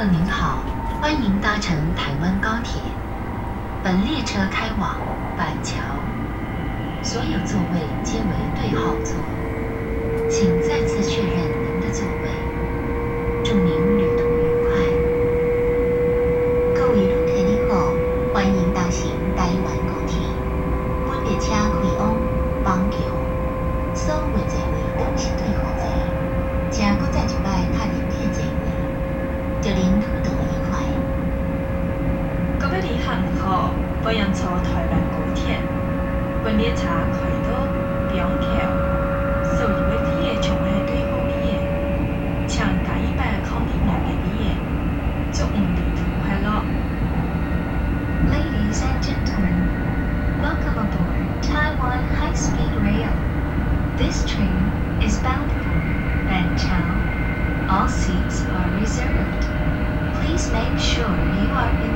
客您好，欢迎搭乘台湾高铁。本列车开往板桥，所有座位皆为对号座，请再次确认您的座位。祝您旅途愉快。 各位旅客您好，欢迎搭乘台湾高铁。本列车开往板桥，所有座位都是对号座，请搁再一摆确认你的座位。祝您旅途愉快。 各位旅客好，欢迎坐台湾高铁。本列车开到板桥，所有的旅客从来对号旅客，请加一百抗疫两个旅客，祝您旅途快乐。 Ladies and gentlemen, welcome aboard Taiwan High-Speed Rail. This train is bound for Banqiao. All seats are reserved. Please make sure you are in